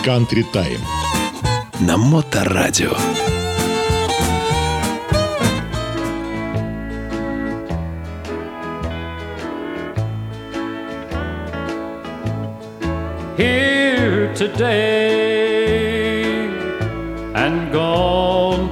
Country Time на Моторадио. Here today and gone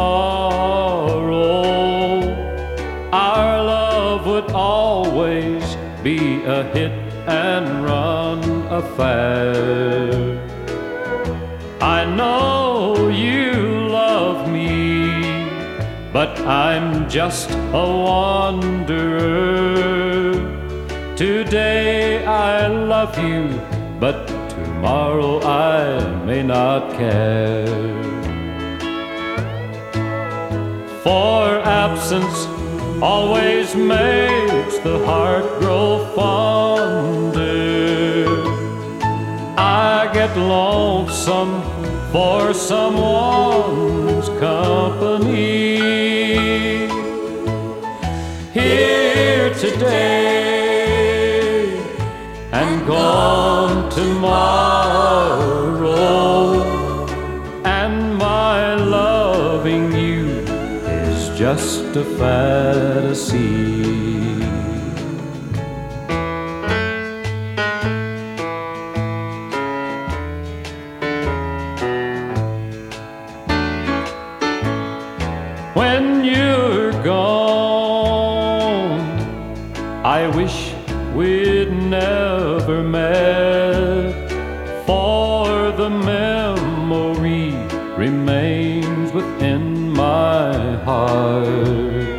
tomorrow, our love would always be a hit and run affair. I know you love me, but I'm just a wanderer. Today I love you, but tomorrow I may not care. For absence always makes the heart grow fonder. I get lonesome for someone's company. Here today and gone tomorrow, and my loving you is just a fantasy. When you're gone, I wish we'd never met, for the memory remains within my heart.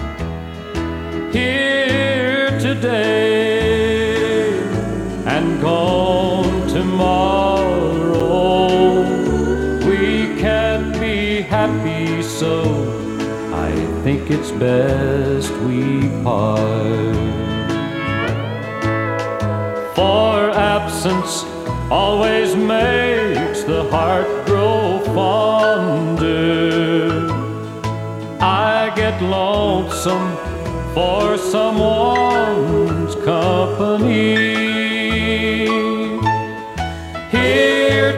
Here today and gone tomorrow, we can't be happy, so I think it's best we part. For absence always makes the heart grow fonder. I get lonesome for someone's company. Here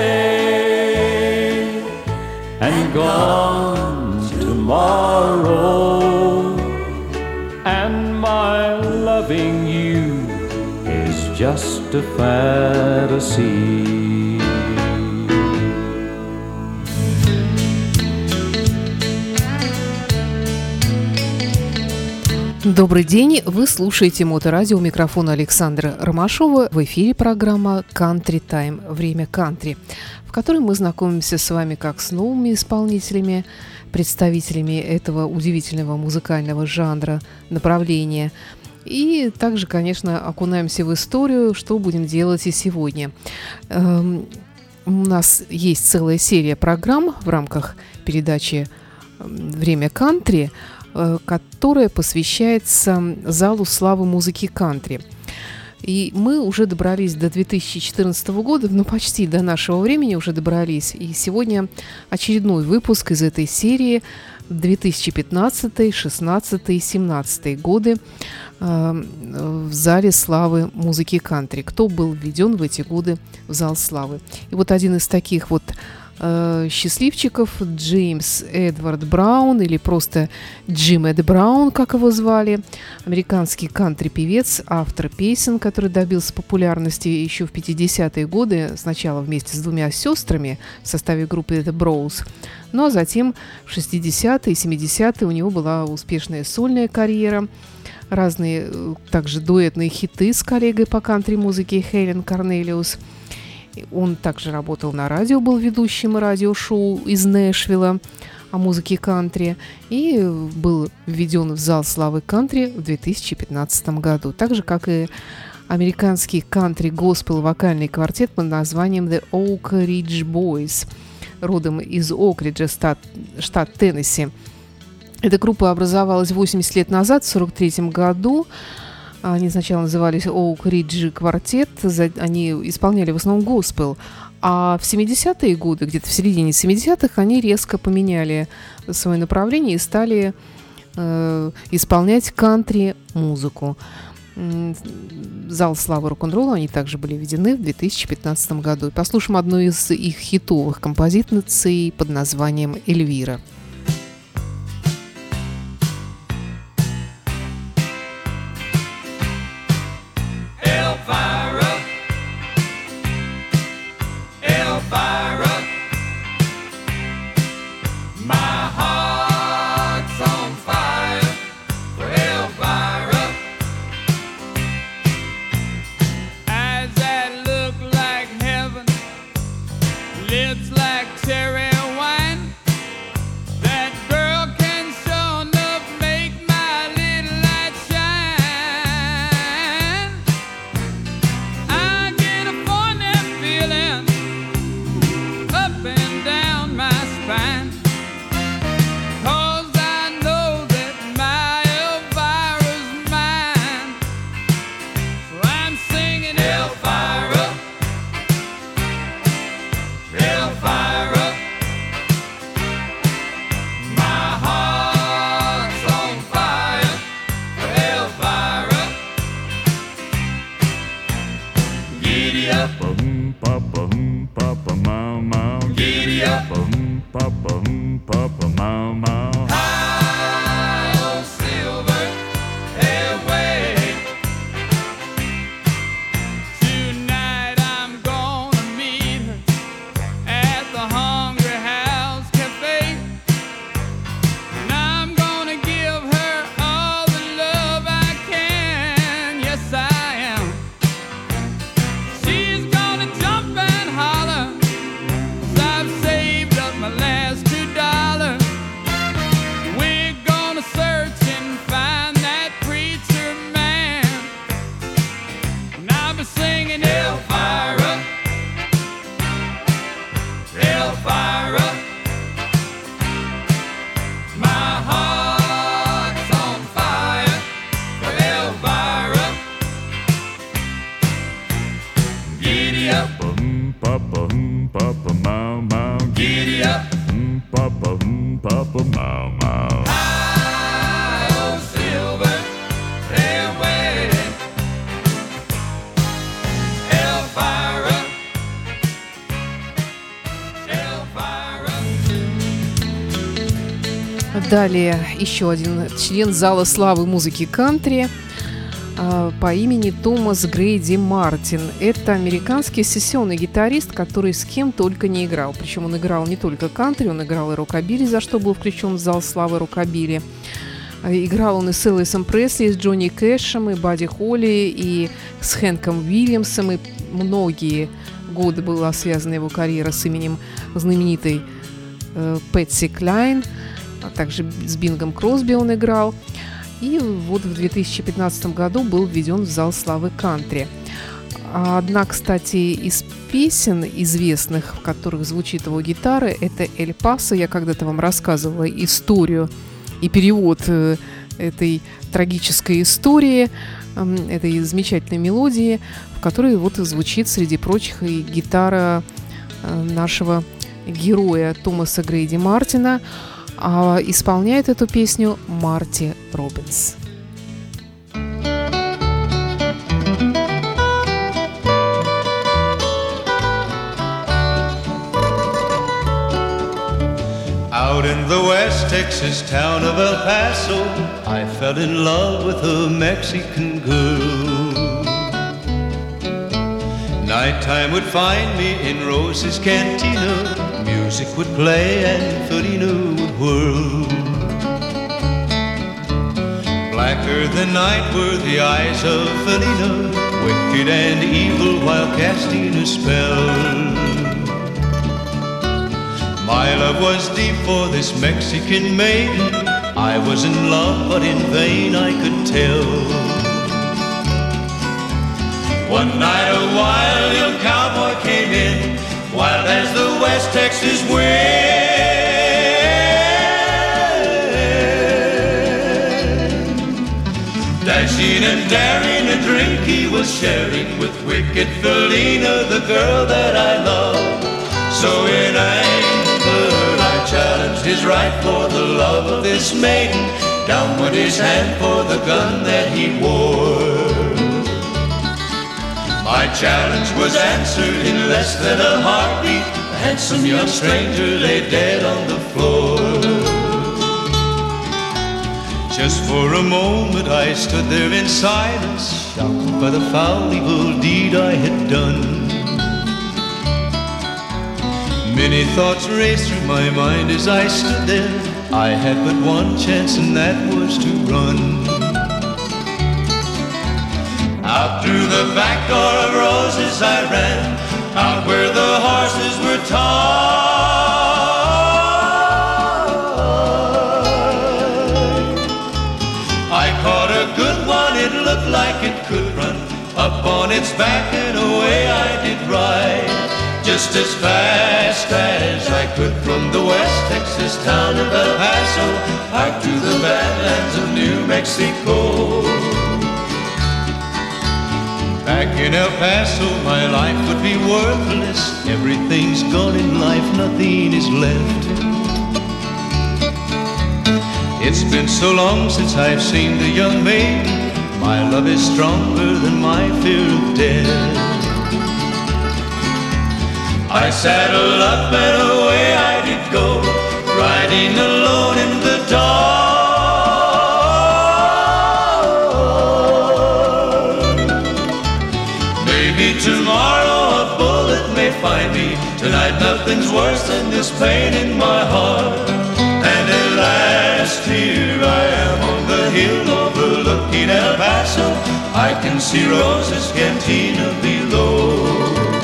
today and gone tomorrow, and my loving you is just a fantasy. Добрый день, вы слушаете Моторадио, у микрофона Александра Ромашова. В эфире программа Country Time, время кантри, в которой мы знакомимся с вами как с новыми исполнителями, представителями этого удивительного музыкального жанра, направления. И также, конечно, окунаемся в историю, что будем делать и сегодня. У нас есть целая серия программ в рамках передачи «Время кантри», которая посвящается залу славы музыки кантри. И мы уже добрались до 2014 года, ну почти до нашего времени уже добрались. И сегодня очередной выпуск из этой серии 2015, 2016 и 2017 годы в зале славы музыки кантри. Кто был введен в эти годы в зал славы. И вот один из таких вот счастливчиков, Джеймс Эдвард Браун, или просто Джим Эд Браун, как его звали, американский кантри-певец, автор песен, который добился популярности еще в 50-е годы, сначала вместе с двумя сестрами в составе группы The Bros, ну а затем в 60-е и 70-е у него была успешная сольная карьера, разные также дуэтные хиты с коллегой по кантри-музыке Хелен Корнелиус. Он также работал на радио, был ведущим радиошоу из Нэшвилла о музыке кантри и был введен в зал славы кантри в 2015 году. Так же, как и американский кантри-госпел вокальный квартет под названием The Oak Ridge Boys, родом из Окриджа, штат Теннесси. Эта группа образовалась 80 лет назад, в 1943 году. Они сначала назывались Oak Ridge Quartet, они исполняли в основном госпел, а в 70-е годы, где-то в середине 70-х, они резко поменяли свое направление и стали исполнять кантри-музыку. Зал славы рок-н-ролла. Они также были введены в 2015 году. И послушаем одну из их хитовых композиций под названием «Эльвира». Lips like cherry wine. That girl can sure enough make my little light shine. I get a funny feeling up and down my spine, 'cause I know that my Elvira's mine. So I'm singing Elvira, Elvira, my heart's on fire for Elvira. Giddy up, Papa, papa, mama. giddy up, Papa, papa, mama. high on silver airway. Tonight I'm gonna meet her at the Hungry House Cafe, and I'm gonna give her all the love I can. Yes, I am. She's gonna jump and holler, 'cause I've saved up my last $2. We're gonna search and find that preacher man, and I'll be singing Elvira, Elvira, my heart's on fire for Elvira. Giddy up, Papa, papa, mama. giddy up, Papa, papa, mama. high on silver airway. Elvira, Elvira. Далее еще один член зала славы музыки кантри по имени Томас Грейди Мартин. Это американский сессионный гитарист, который с кем только не играл. Причем он играл не только кантри, он играл и рокобили, за что был включен в зал славы рокобили. Играл он и с Элвисом Пресли, и с Джонни Кэшем, и Бадди Холли, и с Хэнком Уильямсом. И многие годы была связана его карьера с именем знаменитой Пэтси Клайн, а также с Бингом Кросби он играл. И вот в 2015 году был введен в зал славы кантри. Одна, кстати, из песен известных, в которых звучит его гитара, это «Эль Пасо». Я когда-то вам рассказывала историю и перевод этой трагической истории, этой замечательной мелодии, в которой вот звучит, среди прочих, и гитара нашего героя Томаса Грейди Мартина. А исполняет эту песню Марти Робинс. Out in the West Texas town of El Paso, I fell in love with a Mexican girl. Nighttime would find me in Rose's Cantina. Music would play and Felina would whirl. Blacker than night were the eyes of Felina, wicked and evil while casting a spell. My love was deep for this Mexican maiden. I was in love, but in vain I could tell. One night a wild young cowboy came in, wild as the West Texas wind. Dashing and daring, a drink he was sharing with wicked Felina, the girl that I love. So in anger I challenged his right for the love of this maiden. Down went his hand for the gun that he wore. My challenge was answered in less than a heartbeat. A handsome young stranger lay dead on the floor. Just for a moment I stood there in silence, shocked by the foul evil deed I had done. Many thoughts raced through my mind as I stood there. I had but one chance, and that was to run. Out through the back door of roses I ran, out where the horses were tied. I caught a good one, it looked like it could run. Up on its back and away I did ride, just as fast as I could from the West Texas town of El Paso out to the badlands of New Mexico. Back in El Paso my life would be worthless. Everything's gone in life, nothing is left. It's been so long since I've seen the young maiden. My love is stronger than my fear of death. I saddled up and away I did go, riding alone in the dark. Maybe tomorrow a bullet may find me. Tonight nothing's worse than this pain in my heart. And at last here I am on the hill overlooking El Paso. I can see Rosa's cantina below.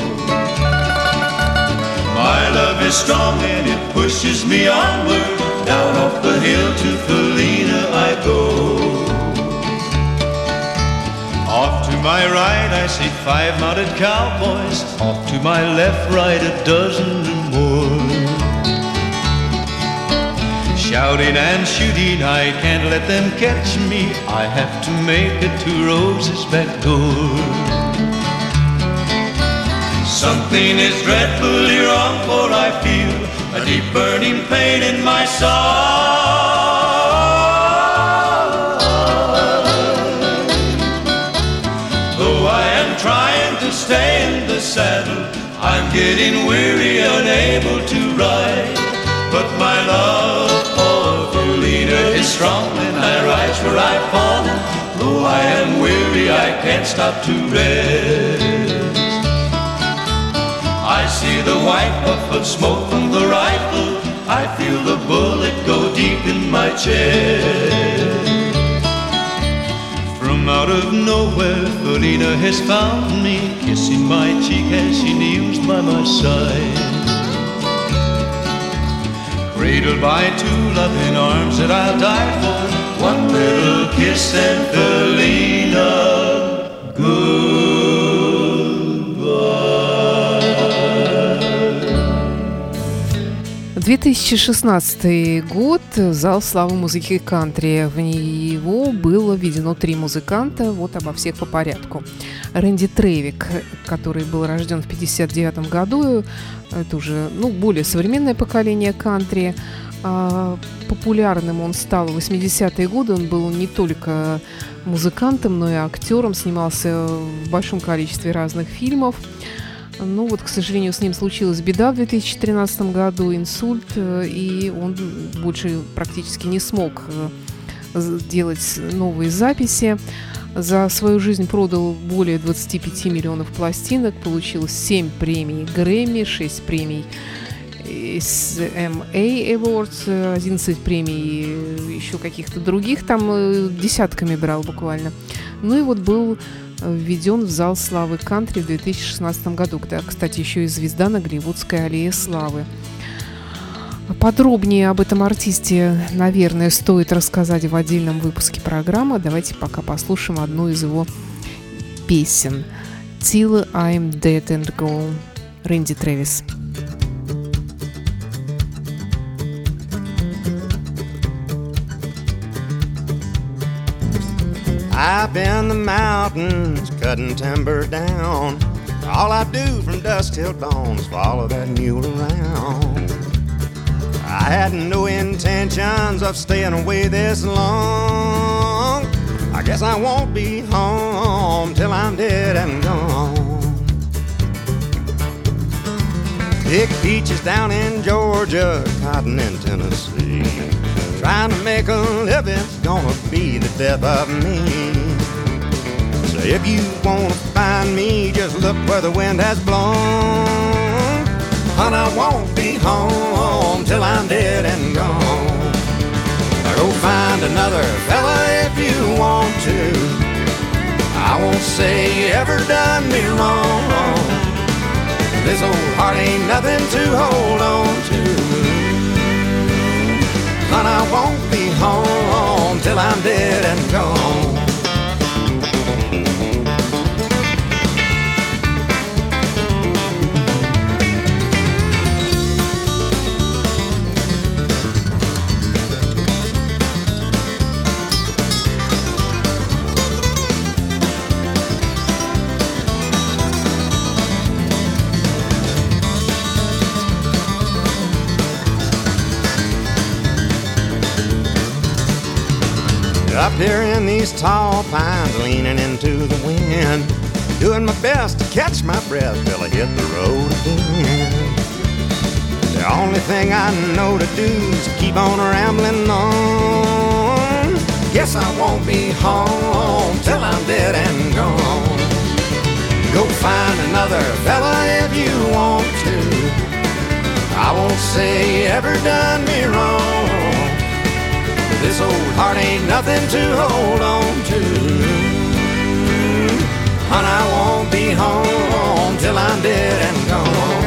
My love is strong and it pushes me onward. Down off the hill to Felina I go. Off to my right I see 5 mounted cowboys. Off to my left, right, a dozen or more. Shouting and shooting, I can't let them catch me. I have to make it to Rosa's back door. Something is dreadfully wrong, for I feel a deep burning pain in my side. Though I am trying to stay in the saddle, I'm getting weary, unable to ride. But my love for Felina is strong, and I rise where I've fallen. Though I am weary, I can't stop to rest. I see the white puff of smoke from the rifle. I feel the bullet go deep in my chest. From out of nowhere, Felina has found me, kissing my cheek as she kneels by my side. Cradled by 2 loving arms that I'll die for. One little kiss and Felina, goodbye. 2016 год. Зал славы музыки кантри. В него было введено 3 музыканта. Вот обо всех по порядку. Рэнди Тревик, который был рожден в 1959 году. Это уже более современное поколение кантри. Популярным он стал в 80-е годы. Он был не только музыкантом, но и актером. Снимался в большом количестве разных фильмов. Но к сожалению, с ним случилась беда в 2013 году, инсульт, и он больше практически не смог делать новые записи. За свою жизнь продал более 25 миллионов пластинок, получил 7 премий Грэмми, 6 премий SMA Awards, 11 премий еще каких-то других, там десятками брал буквально. Был введен в зал славы кантри в 2016 году, когда, кстати, еще и звезда на Голливудской аллее славы. Подробнее об этом артисте, наверное, стоит рассказать в отдельном выпуске программы. Давайте пока послушаем одну из его песен. «Till I'm Dead and Gone», Рэнди Трэвис. Up in the mountains, cutting timber down. All I do from dusk till dawn is follow that mule around. I had no intentions of staying away this long. I guess I won't be home till I'm dead and gone. Big peaches down in Georgia, cotton in Tennessee. Trying to make a living's gonna be the death of me. So if you wanna find me, just look where the wind has blown. And I won't be home till I'm dead and gone. Go find another fella if you want to. I won't say you ever done me wrong. This old heart ain't nothing to hold on to. And I won't be home till I'm dead and gone. Up here in these tall pines, leaning into the wind, doing my best to catch my breath till I hit the road again. The only thing I know to do is keep on rambling on. Guess I won't be home till I'm dead and gone. Go find another fella if you want to. I won't say you ever done me wrong. This old heart ain't nothing to hold on to. And I won't be home till I'm dead and gone.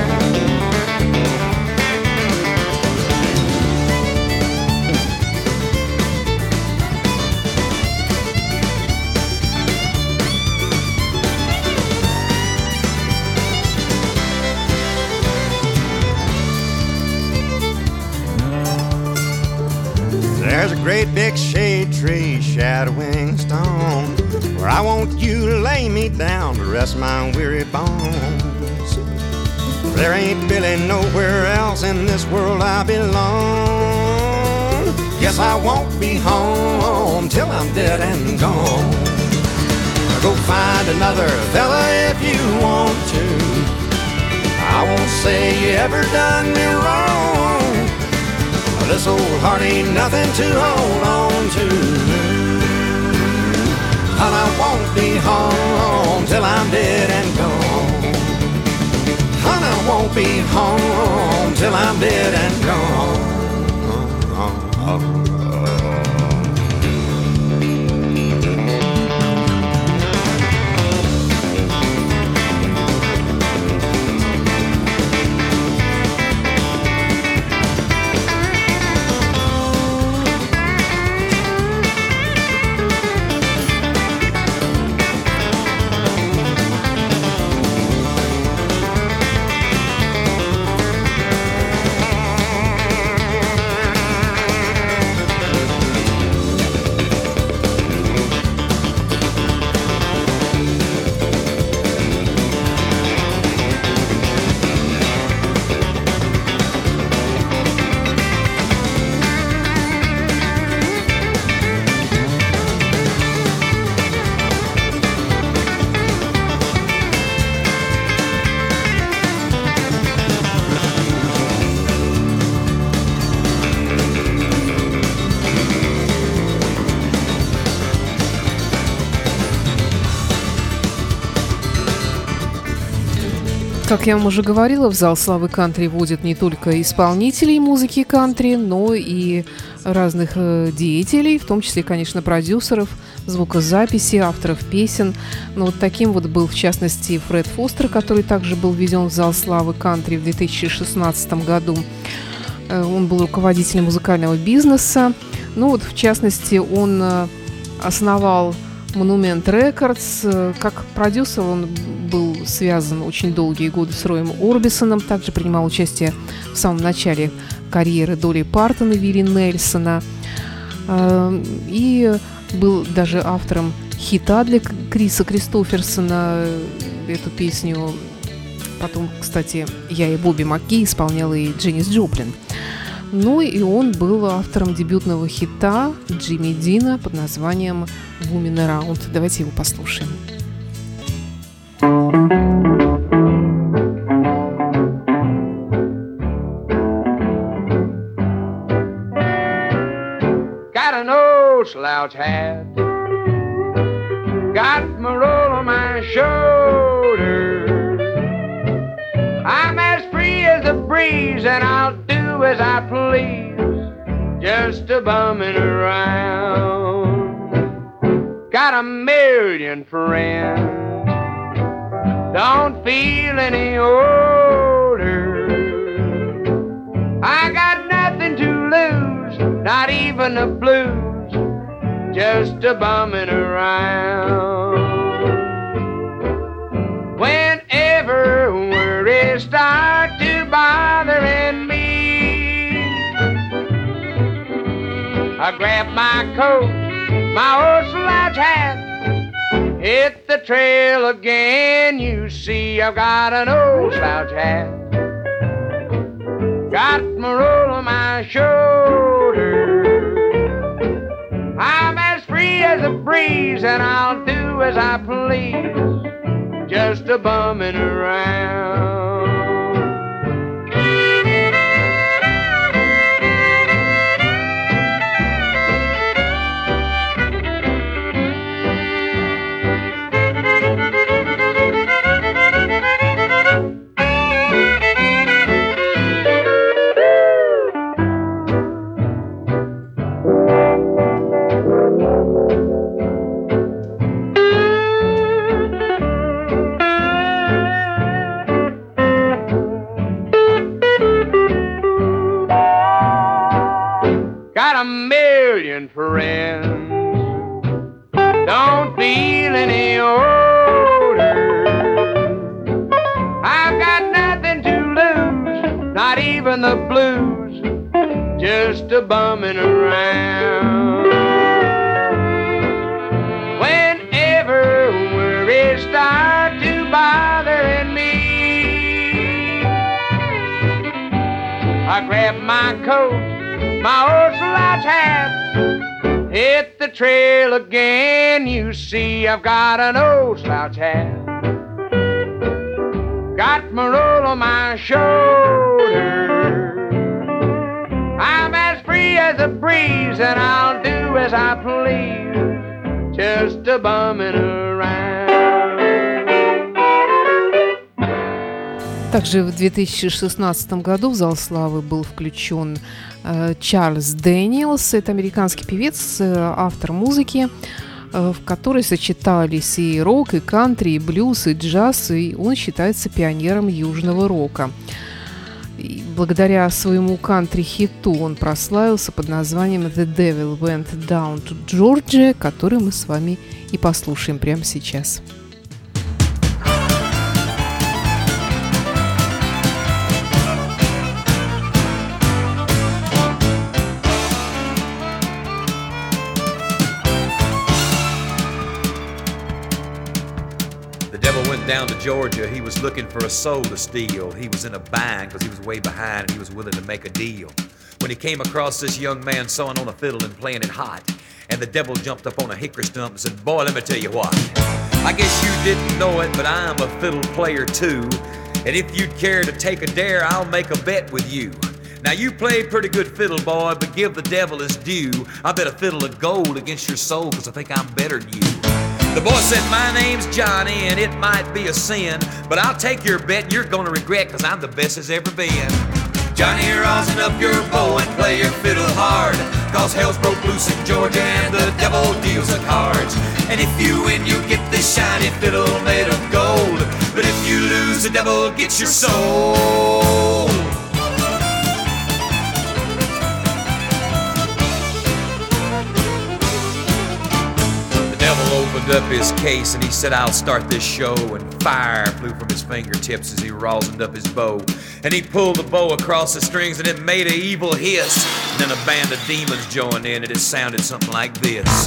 There's a great big shade tree shadowing stone where I want you to lay me down to rest my weary bones. There ain't really nowhere else in this world I belong. Guess I won't be home till I'm dead and gone. Go find another fella if you want to. I won't say you ever done me wrong. This old heart ain't nothing to hold on to. And I won't be home till I'm dead and gone. And I won't be home till I'm dead and gone. Как я вам уже говорила, в зал славы кантри водят не только исполнителей музыки кантри, но и разных деятелей, в том числе, конечно, продюсеров, звукозаписи, авторов песен. Но вот таким вот был, в частности, Фред Фостер, который также был введен в зал славы кантри в 2016 году. Он был руководителем музыкального бизнеса. Ну вот, в частности, он основал Monument Records. Как продюсер он был связан очень долгие годы с Роем Орбисоном. Также принимал участие в самом начале карьеры Долли Партон и Вилли Нельсона. И был даже автором хита для Криса Кристоферсона. Эту песню потом, кстати, я и Бобби Маккей исполняла и Дженнис Джоплин. Ну и он был автором дебютного хита Джимми Дина под названием «Woman Around». Давайте его послушаем. slouch hat. Got my roll on my shoulder. I'm as free as a breeze and I'll do as I please, just a bumming around. Got a million friends, don't feel any older. I got nothing to lose, not even the blues, just a bumming around. Whenever worries start to bothering me, I grab my coat, my old slouch hat, hit the trail again. You see, I've got an old slouch hat, got my roll on my shoulder. I'm as free as a breeze and I'll do as I please, just a bumming around. Got a million friends, don't feel any older. I've got nothing to lose, not even the blues, just a bumming around. Whenever worries start to bothering me, I grab my coat, my old slouch hat, hit the trail again. You see, I've got an old slouch hat, got my roll on my shoulder. I'm as free as a breeze and I'll do as I please, just a bumming around. Также в 2016 году в зал славы был включен Чарльз Дэниелс. Это американский певец, автор музыки, в которой сочетались и рок, и кантри, и блюз, и джаз, и он считается пионером южного рока. И благодаря своему кантри-хиту он прославился под названием «The Devil Went Down to Georgia», который мы с вами и послушаем прямо сейчас. Down to Georgia, he was looking for a soul to steal. He was in a bind because he was way behind and he was willing to make a deal. When he came across this young man sewing on a fiddle and playing it hot, and the devil jumped up on a hickory stump and said, "Boy, let me tell you what. I guess you didn't know it, but I'm a fiddle player too. And if you'd care to take a dare, I'll make a bet with you. Now you play pretty good fiddle, boy, but give the devil his due. I bet a fiddle of gold against your soul because I think I'm better than you." The boy said, "My name's Johnny, and it might be a sin, but I'll take your bet and you're gonna regret, cause I'm the best there's ever been. Johnny, rosin up your bow and play your fiddle hard, cause hell's broke loose in Georgia and the devil deals the cards. And if you win, you get this shiny fiddle made of gold, but if you lose, the devil gets your soul." Opened up his case and he said, "I'll start this show," and fire flew from his fingertips as he rosined up his bow, and he pulled the bow across the strings and it made an evil hiss, and then a band of demons joined in and it sounded something like this.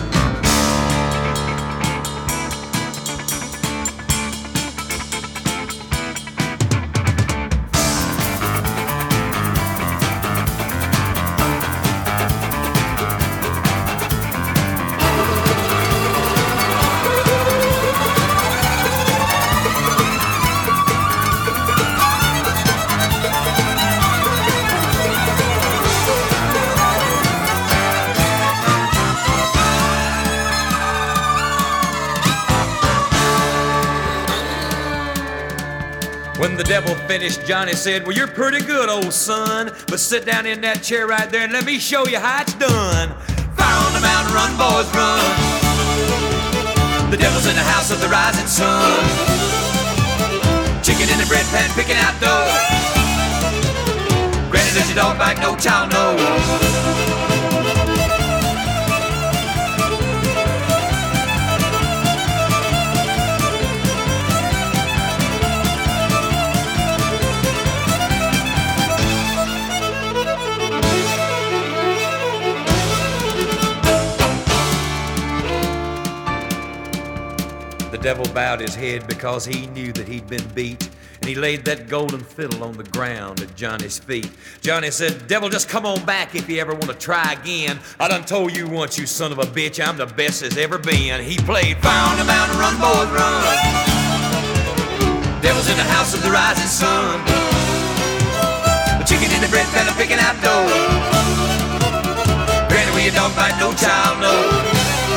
devil finished, Johnny said, well, you're pretty good, old son, but sit down in that chair right there and let me show you how it's done. Fire on the mountain, run, boys, run. The devil's in the house of the rising sun. Chicken in the bread pan, picking out dough. Granny, does your dog bite? No child knows. The devil bowed his head because he knew that he'd been beat, and he laid that golden fiddle on the ground at Johnny's feet. Johnny said, devil, just come on back if you ever want to try again. I done told you once, you son of a bitch, I'm the best there's ever been. He played Fire on the Mountain, run, boys, run. Devil's in the house of the rising sun. The chicken in the bread pan, picking out dough. Granny, where your dog bite, no child knows.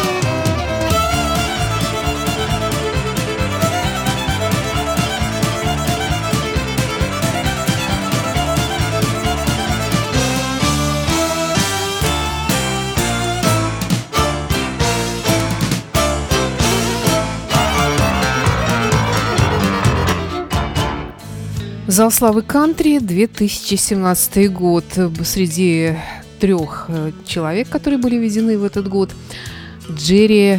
Зал славы кантри, 2017 год. Среди 3 человек, которые были введены в этот год, Джерри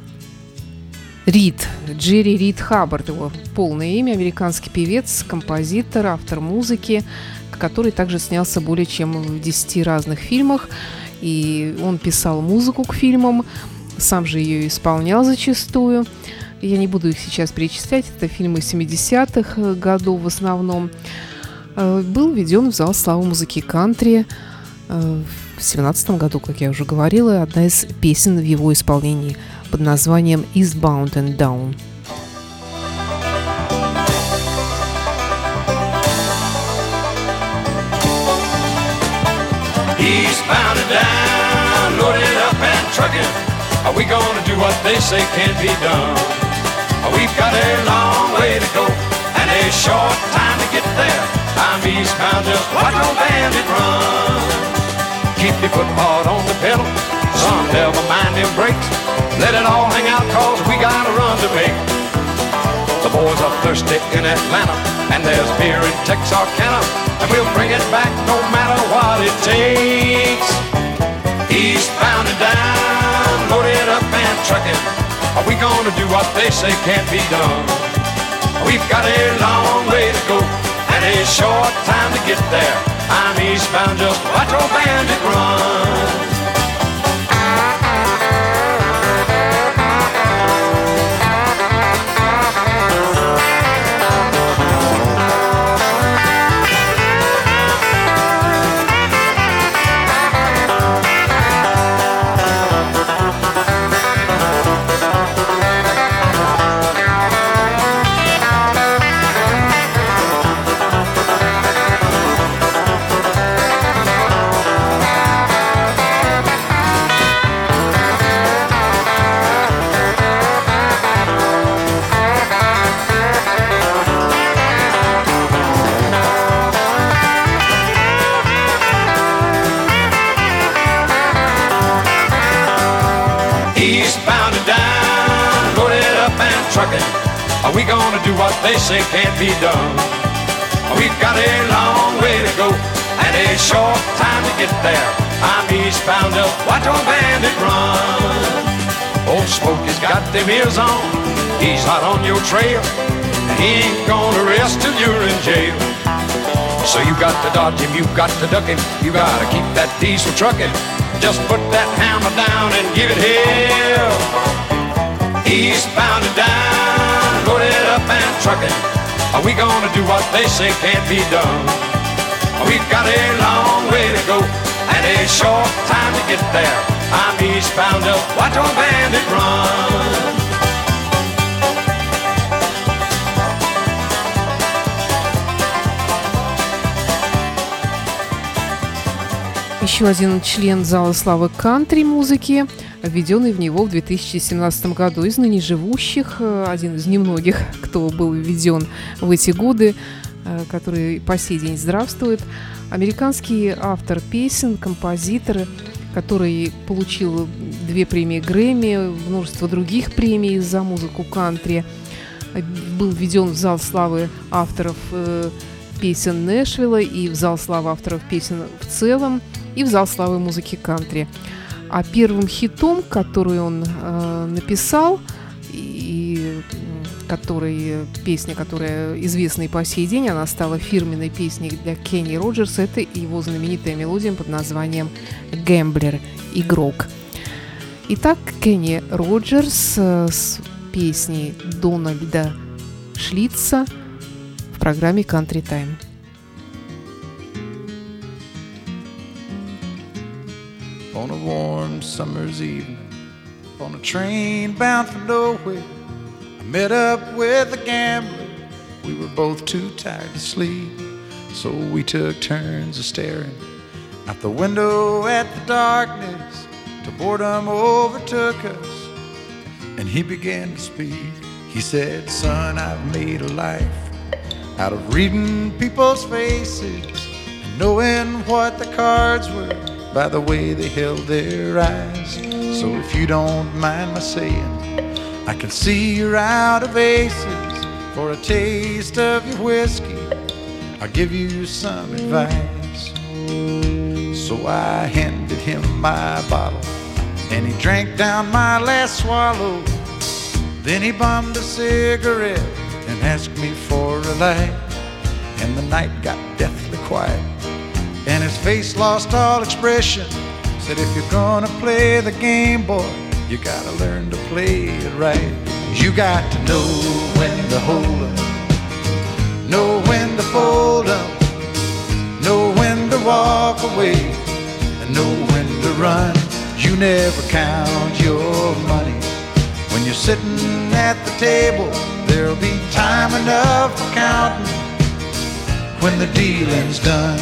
Рид Хаббард, его полное имя, американский певец, композитор, автор музыки, который также снялся более чем в 10 разных фильмах. И он писал музыку к фильмам, сам же ее исполнял зачастую. Я не буду их сейчас перечислять, это фильмы 70-х годов в основном. Был введен в зал славы музыки кантри в 2017 году, как я уже говорила, одна из песен в его исполнении под названием «Eastbound and Down». Eastbound and down, loaded up and trucking. Are we gonna do what they say can't be done? We've got a long way to go and a short time to get there. I'm eastbound, just watch old bandit run. Keep your foot hard on the pedal, son, never mind them brakes. Let it all hang out, cause we got a run to make. The boys are thirsty in Atlanta, and there's beer in Texarkana, and we'll bring it back no matter what it takes. Eastbound and down, loaded up and trucking. Are we gonna do what they say can't be done? We've got a long way to go and a short time to get there. I'm eastbound, just watch old bandit run. Eastbound and down, loaded up and trucking. Are we gonna do what they say can't be done? We've got a long way to go and a short time to get there. I'm eastbound, just watch old bandit run. Old Smokey's got them ears on, he's hot on your trail, and he ain't gonna rest till you're in jail. So you got to dodge him, you got to duck him, you gotta keep that diesel trucking. Just put that hammer down and give it hell. Eastbound and down, loaded up and trucking. Are we gonna do what they say can't be done? We've got a long way to go and a short time to get there. I'm eastbound, just watch old bandit run. Еще один член зала славы кантри-музыки, введенный в него в 2017 году. Из ныне живущих, один из немногих, кто был введен в эти годы, который по сей день здравствует. Американский автор песен, композитор, который получил 2 премии Грэмми, множество других премий за музыку кантри. Был введен в зал славы авторов песен Нэшвилла и в зал славы авторов песен в целом, и в зал славы музыки кантри. А первым хитом, который он написал, и песня, которая известна и по сей день, она стала фирменной песней для Кенни Роджерса, это его знаменитая мелодия под названием «Гэмблер», «Игрок». Итак, Кенни Роджерс с песней Дональда Шлитца в программе Country Time. On a warm summer's evening, on a train bound for nowhere, I met up with a gambler. We were both too tired to sleep, so we took turns of staring out the window at the darkness till boredom overtook us, and he began to speak. He said, "Son, I've made a life out of reading people's faces and knowing what the cards were by the way they held their eyes. So if you don't mind my saying, I can see you're out of aces. For a taste of your whiskey, I'll give you some advice." So I handed him my bottle, and he drank down my last swallow. Then he bummed a cigarette and asked me for a light. And the night got deathly quiet, and his face lost all expression. Said, "If you're gonna play the game, boy, you gotta learn to play it right. You got to know when to hold 'em, know when to fold 'em, know when to walk away, and know when to run. You never count your money when you're sitting at the table. There'll be time enough for counting when the dealing's done."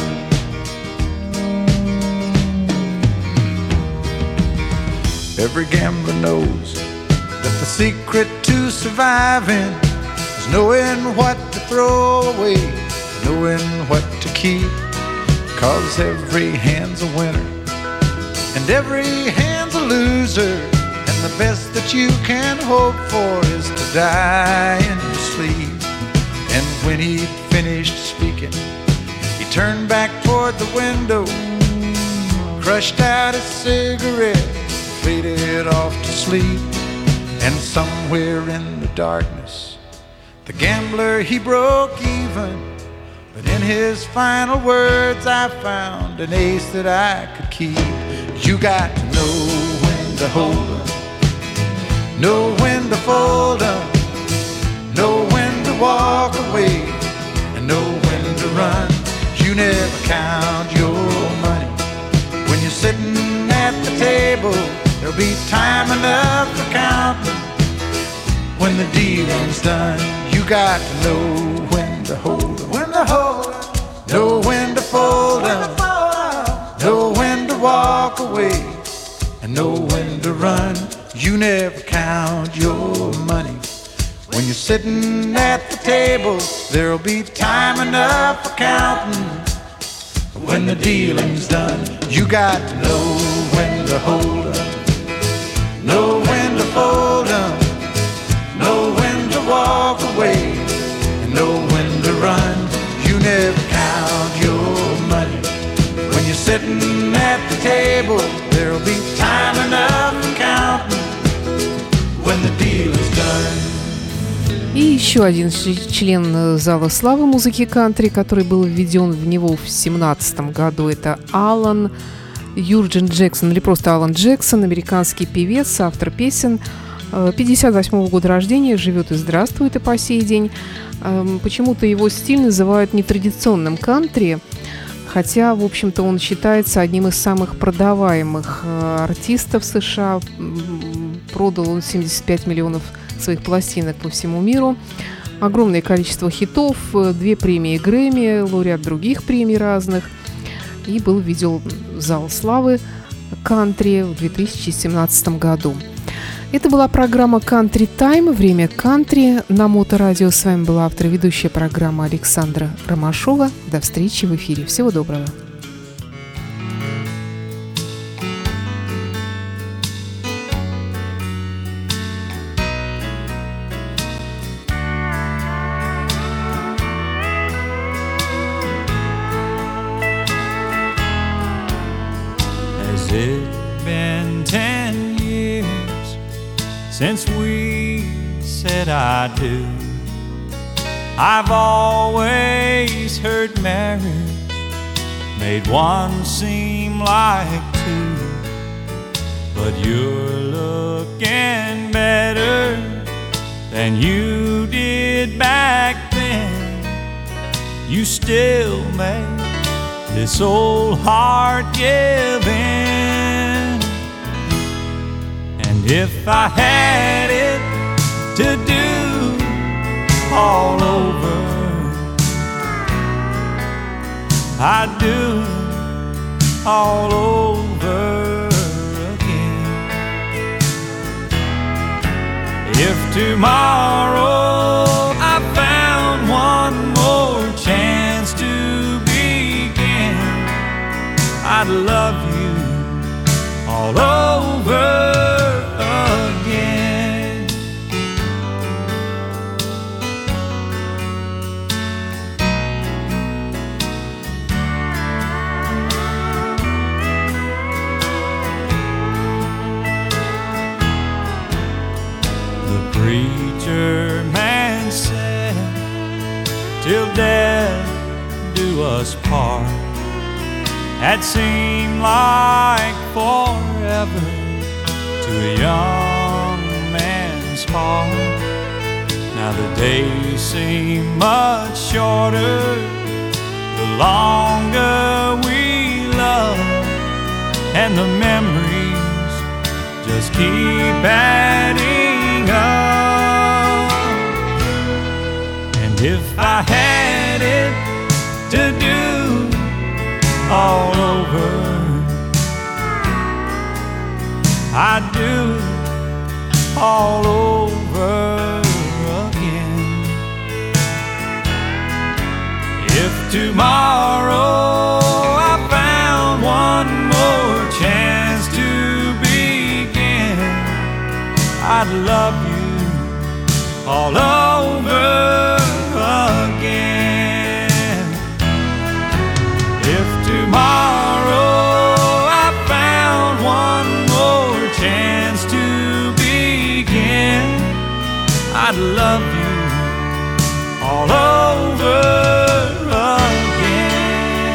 Every gambler knows that the secret to surviving is knowing what to throw away, knowing what to keep. 'Cause every hand's a winner and every hand's a loser, and the best that you can hope for is to die in your sleep. And when he'd finished speaking, he turned back toward the window, crushed out his cigarette, faded off to sleep. And somewhere in the darkness, the gambler, he broke even. But in his final words, I found an ace that I could keep. You got to know when to hold 'em, know when to fold 'em, know when to walk away, and know when to run. You never count your money when you're sitting at the table. There'll be time enough for counting when the dealing's done. You got to know when to hold 'em, when to hold 'em, know when to fold 'em, know when to walk away, and know when to run. You never count your money when you're sitting at the table. There'll be time enough for counting when the dealing's done. You got to know when to hold 'em, know when to fold 'em, know when to walk away, and know when to run. You never count your money when you're sitting at the table. There'll be time enough for counting when the deal is done. И еще один член зала славы музыки кантри, который был введен в него в 2017 году, это Алан Юрген Джексон, или просто Алан Джексон, американский певец, автор песен, 58 года рождения, живет и здравствует и по сей день. Почему-то его стиль называют нетрадиционным кантри, хотя, в общем-то, он считается одним из самых продаваемых артистов США. Продал он 75 миллионов своих пластинок по всему миру. Огромное количество хитов, 2 премии Грэмми, лауреат других премий разных. И был введен в зал славы кантри в 2017 году. Это была программа «Country Time», время кантри на Моторадио. С вами была автор и ведущая программы Александра Ромашова. До встречи в эфире. Всего доброго. Has it been 10 years since we said I do? I've always heard marriage made one seem like two, but you're looking better than you did back then. You still make this old heart give in. And if I had it to do all over, I'd do all over again. If tomorrow I found one more chance to begin, I'd love you all over again. The preacher man said, till death do us part. That seemed like forever to a young man's heart. Now the days seem much shorter the longer we love, and the memories just keep adding up. And if I had it to do all over, I'd do all over again. If tomorrow I found one more chance to begin, I'd love you all over again. If tomorrow I found one more chance to begin, I'd love you all over again.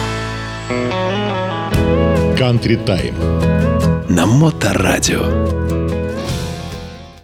Country Time на Моторадио.